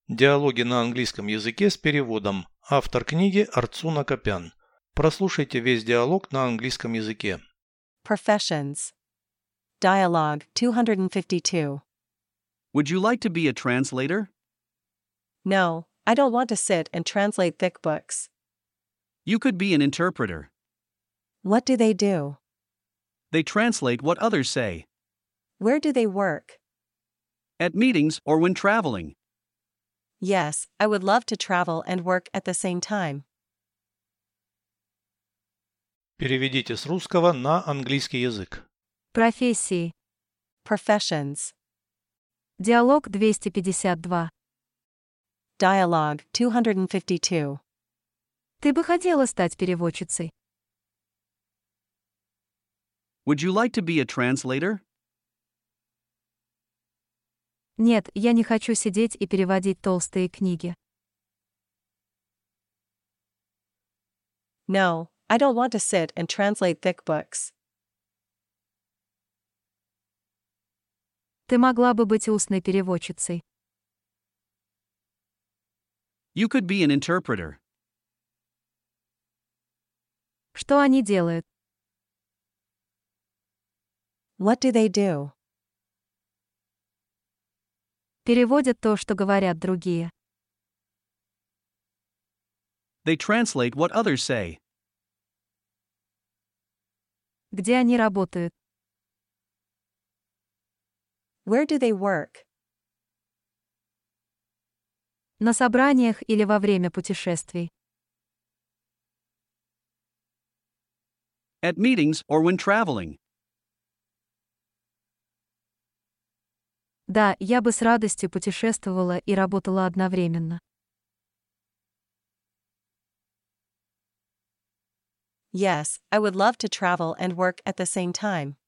Диалоги на английском языке с переводом. Автор книги Арцуна Копян. Прослушайте весь диалог на английском языке. Professions. Dialogue 252. Would you like to be a translator? No, I don't want to sit and translate thick books. You could be an interpreter. What do they do? They translate what others say. Where do they work? At meetings or when traveling. Yes, I would love to travel and work at the same time. Переведите с русского на английский язык. Профессии. Professions. Диалог 252. Dialogue 252. Ты бы хотела стать переводчицей? Would you like to be a translator? Нет, я не хочу сидеть и переводить толстые книги. No, I don't want to sit and translate thick books. Ты могла бы быть устной переводчицей. You could be an interpreter. Что они делают? What do they do? Переводят то, что говорят другие. They translate what others say. Где они работают? Where do they work? На собраниях или во время путешествий. At meetings or when traveling. Да, я бы с радостью путешествовала и работала одновременно. Yes, I would love to travel and work at the same time.